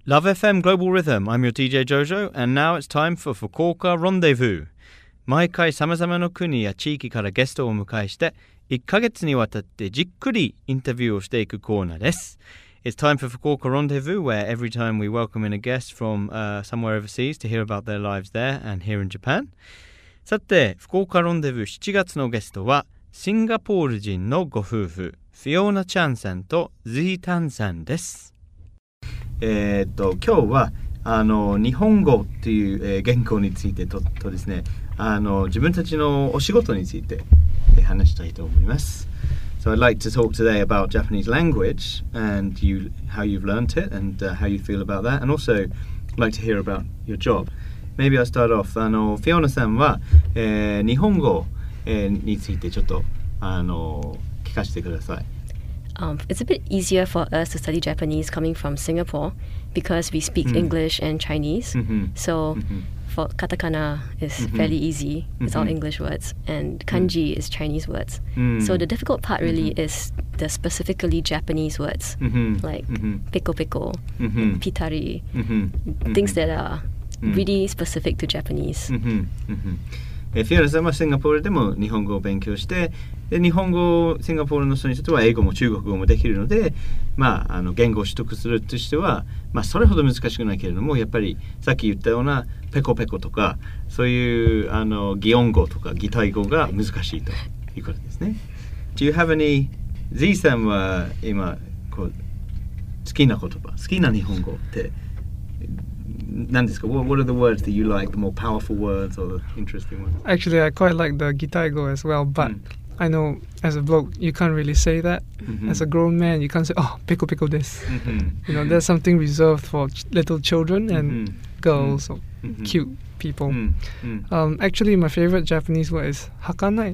Love FM Global Rhythm. I'm your DJ Jojo, and now it's time for Fukuoka Rendezvous. 毎回様々な国や地域からゲストをお迎えして、1ヶ月にわたってじっくりインタビューをしていくコーナーです。It's time for Fukuoka Rendezvous, where every time we welcome in a guest from somewhere overseas to hear about their lives there and here in Japan. さて、福岡ロンデブー7月のゲストは、シンガポール人のご夫婦、フィオナ・チャンさんとズイ・タンさんです。今日は日本語という、言語についてとですね、自分たちのお仕事について、話したいと思います。So I'd like to talk today about Japanese language and how you've learnt it and how you feel about that, and also like to hear about your job. Maybe I'll start off. フィオナさんは、日本語、についてちょっと聞かせてください。 It's a bit easier for us to study Japanese coming from Singapore because we speak English and Chinese. So for katakana is fairly easy. It's all English words, and kanji is Chinese words. So the difficult part really is the specifically Japanese words like peko peko, pitari, things that are really specific to Japanese. フィオナさんはシンガポールでも日本語を勉強して、で日本語シンガポールの人にとっては英語も中国語もできるので、言語を取得するとしては、それほど難しくないけれども、やっぱりさっき言ったようなペコペコとかそういう擬音語とか擬態語が難しいということですね。Do you have any Z さんは今好きな言葉、好きな日本語って何ですか? What are the words that you like, the more powerful words or the interesting ones? Actually, I quite like the Gitaigo as well, but I know as a bloke, you can't really say that. As a grown man, you can't say, oh, peko peko desu. You know, there's something reserved for little children and girls or cute people. Actually, my favorite Japanese word is hakanai,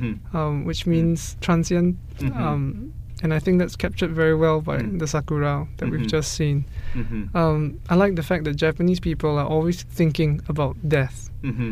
which means transient. And I think that's captured very well by the sakura that we've just seen. I like the fact that Japanese people are always thinking about death.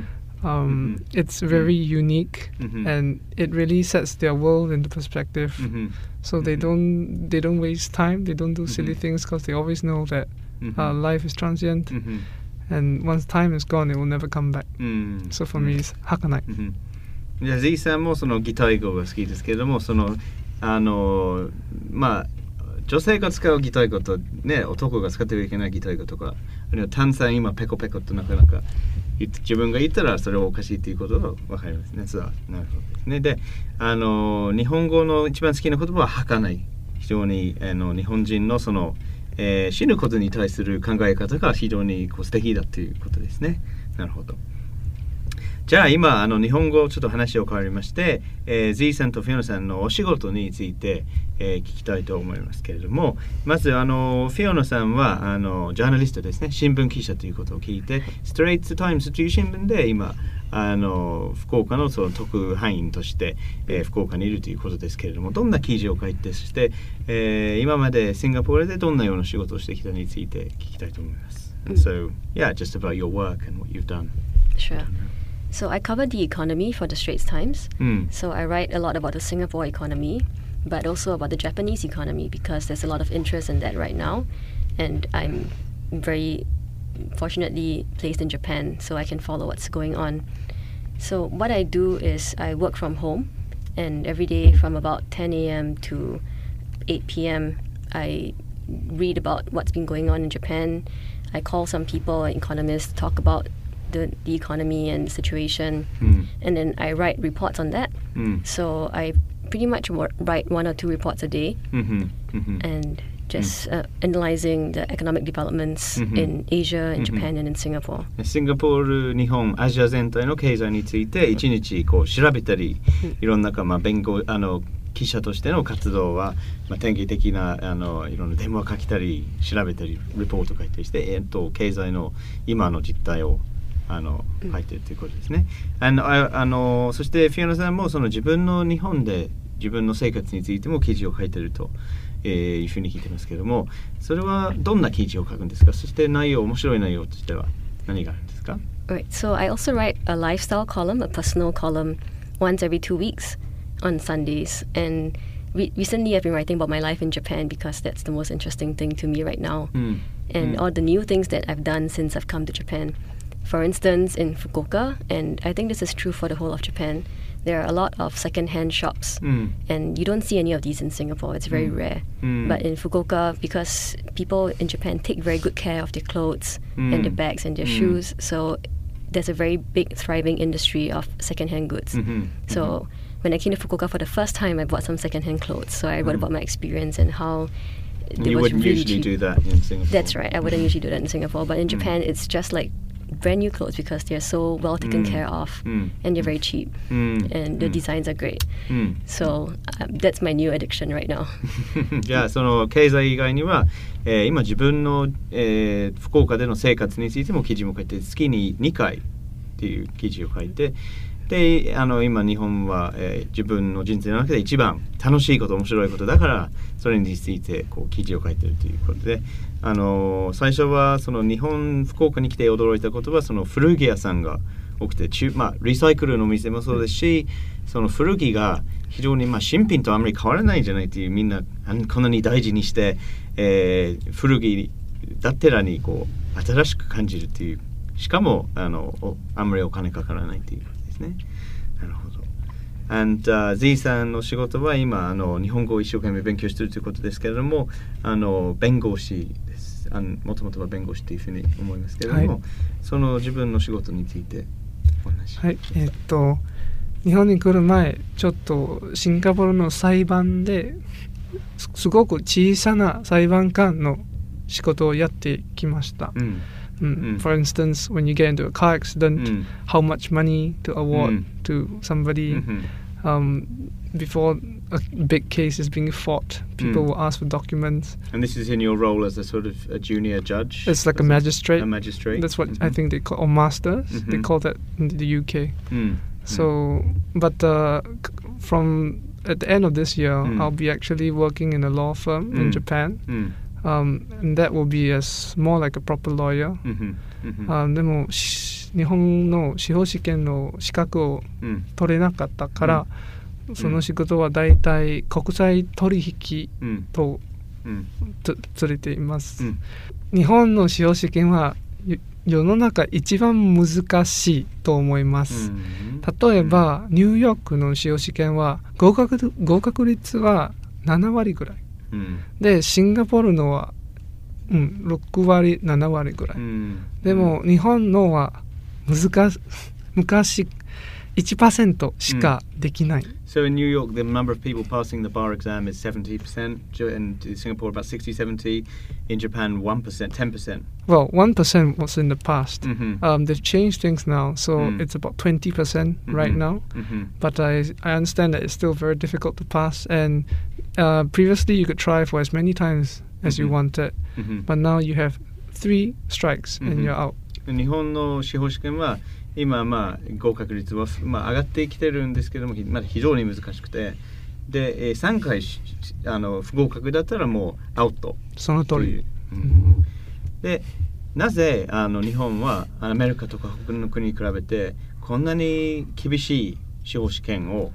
It's very unique, and it really sets their world into perspective. So they don't waste time. They don't do silly things because they always know that life is transient, and once time is gone, it will never come back. So for me, it's hakanai. じゃあ Z さんもその擬態語が好きですけれども、その女性が使う擬態語とね、男が使ってはいけない擬態語とか、あるいは単さん今ペコペコとなかなか自分が言ったらそれはおかしいということが分かりますね。そうなるほどですね。で、日本語の一番好きな言葉は儚い。非常に日本人のその、死ぬことに対する考え方が非常に素敵だということですね。なるほど。じゃあ今日本語ちょっと話を変わりまして、Z さんとフィオナさんのお仕事について、聞きたいと思いますけれども、まずフィオナさんはジャーナリストですね、新聞記者ということを聞いて、ストレイトタイムズという新聞で今福岡のその特派員として、福岡にいるということですけれども、どんな記事を書いて、そして、今までシンガポールでどんなような仕事をしてきたについて聞きたいと思います。So, yeah, just about your work and what you've done. Sure.So I cover the economy for the Straits Times. So I write a lot about the Singapore economy, but also about the Japanese economy because there's a lot of interest in that right now. And I'm very fortunately placed in Japan, so I can follow what's going on. So what I do is I work from home, and every day from about 10 a.m. to 8 p.m. I read about what's been going on in Japan. I call some people, economists, talk about the economy and the situation, and then I write reports on that. So I pretty much write 1 or 2 reports a day, and just analyzing the economic developments in Asia, in Japan, and in Singapore. シンガポール、日本、アジア全体の経済について1日調べたり、いろんな記者としての活動は、典型的ないろんな電話書きたり調べたりレポート書いたりして、経済の今の実態を書いてるということですね。そしてフィオナさんもその自分の日本で自分の生活についても記事を書いてると、いうふうに聞いてますけれども、それはどんな記事を書くんですか？そして面白い内容としては何があるんですか？ Right, so I also write a lifestyle column, a personal column, once every 2 weeks on Sundays. And recently I've been writing about my life in Japan because that's the most interesting thing to me right now. and all the new things that I've done since I've come to Japan. For instance, in Fukuoka, and I think this is true for the whole of Japan, there are a lot of second-hand shops, and you don't see any of these in Singapore. It's very rare. But in Fukuoka, because people in Japan take very good care of their clothes and their bags and their shoes, so there's a very big thriving industry of second-hand goods. So when I came to Fukuoka for the first time, I bought some second-hand clothes. So I wrote about my experience and how you wouldn't really usually cheap. Do that in Singapore. That's right. I wouldn't usually do that in Singapore. But in Japan, it's just like brand new clothes because they're so well taken care of and they're very cheap and the designs are great. So that's my new addiction right now. じゃあその経済以外には、今自分の、福岡での生活についても記事も書いて月に2回っていう記事を書いてで今日本は、自分の人生の中で一番楽しいこと面白いことだからそれについてこう記事を書いてるということで最初はその日本福岡に来て驚いたことはその古着屋さんが多くてリサイクルの店もそうですしその古着が非常に新品とあんまり変わらないんじゃないっていうみんなこんなに大事にして、古着だってらにこう新しく感じるっていうしかもあんまりお金かからないっていうことですね。なるほど。And Z さんの仕事は今日本語を一生懸命勉強しているということですけれども弁護士です。もともとは弁護士というふうに思いますけれども、はい、その自分の仕事についてお話し。 はい、日本に来る前ちょっとシンガポールの裁判ですごく小さな裁判官の仕事をやってきました。For instance, when you get into a car accident, how much money to award to somebody. Before a big case is being fought, people will ask for documents. And this is in your role as a sort of a junior judge? It's like a magistrate. A magistrate. That's what I think they call, or masters. They call that in the UK. So, but from at the end of this year, I'll be actually working in a law firm in Japan. And that will be more like a proper lawyer. でも日本の司法試験の資格を取れなかったから、その仕事はだいたい国際取引と連れています。日本の司法試験は世の中一番難しいと思います。例えばニューヨークの司法試験は合格率は7割ぐらい。でシンガポールのは、6割7割ぐらい、でも日本のは昔 1% しかできない。 So in New York, the number of people passing the bar exam is 70%. In Singapore, about 60-70. In Japan, 1%, 10%. Well, 1% was in the past. They've changed things now, so it's about 20% right now. But I understand that it's still very difficult to pass. And previously, you could try for as many times as you wanted. But now you have 3 strikes and you're out. 日本の司法試験は今合格率は上がってきてるんですけどもまだ非常に難しくてで3回不合格だったらもうアウト。 その通り。 でなぜ日本はアメリカとか他の国に比べてこんなに厳しい司法試験を、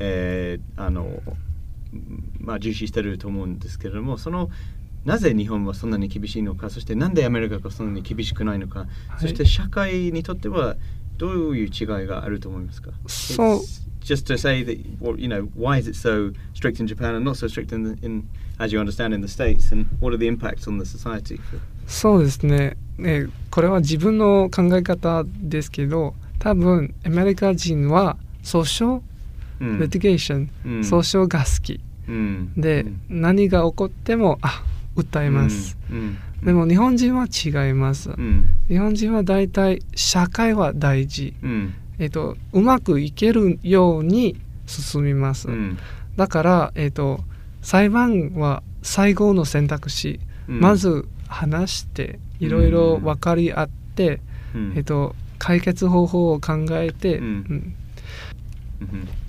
重視してると思うんですけれどもなぜ日本はそんなに厳しいのかそしてなんでアメリカがそんなに厳しくないのか、そして社会にとってはどういう違いがあると思いますか？ So just to say that why is it so strict in Japan and not so strict in as you understand in the States, and what are the impacts on the society? そうですね。これは自分の考え方ですけど、多分アメリカ人は訴訟、litigation、訴訟が好き、で、何が起こっても訴えます。でも日本人は違います。日本人はだいたい社会は大事。うまくいけるように進みます。だから、裁判は最後の選択肢。まず話していろいろ分かり合って、解決方法を考えて。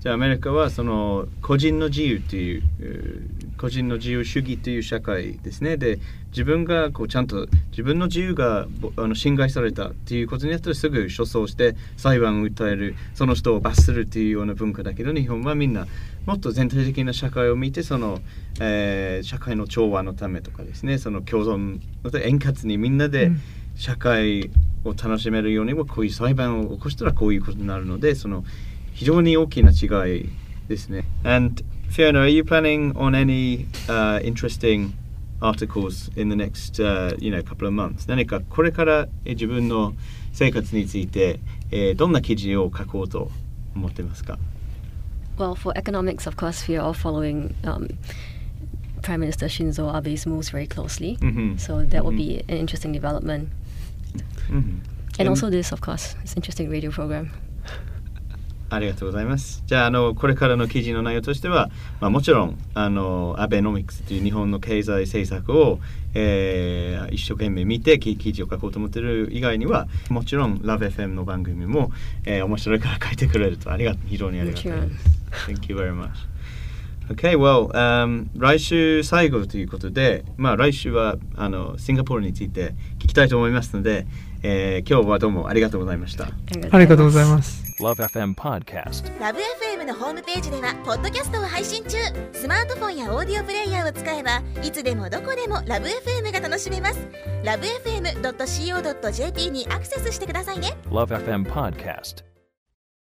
じゃあアメリカはその個人の自由という個人の自由主義という社会ですね。で自分がこうちゃんと自分の自由が侵害されたということによってすぐ訴訟して裁判を訴える、その人を罰するというような文化だけど、日本はみんなもっと全体的な社会を見てその、社会の調和のためとかですね、その共存円滑にみんなで社会を楽しめるようにもこういう裁判を起こしたらこういうことになるので、その非常に大きな違いですね。And Fiona, are you planning on any interesting articles in the next couple of months? 何かこれから自分の生活についてどんな記事を書こうと思ってますか？ Well, for economics, of course, we are all following Prime Minister Shinzo Abe's moves very closely. So that will be an interesting development. And also this, of course, it's an interesting radio program. ありがとうございます。じゃあ、これからの記事の内容としては、もちろんアベノミクスという日本の経済政策を、一生懸命見て記事を書こうと思っている以外には、もちろん LoveFM の番組も、面白いから書いてくれると非常にありがたいです。Thank you very much. Okay, well, 来週最後ということで、来週はシンガポールについて聞きたいと思いますので、今日はどうもありがとうございました。 ありがとうございます。 LoveFM Podcast。 LoveFM のホームページではポッドキャストを配信中。スマートフォンやオーディオプレイヤーを使えばいつでもどこでも LoveFM が楽しめます。LoveFM.co.jp にアクセスしてくださいね。 LoveFM Podcast。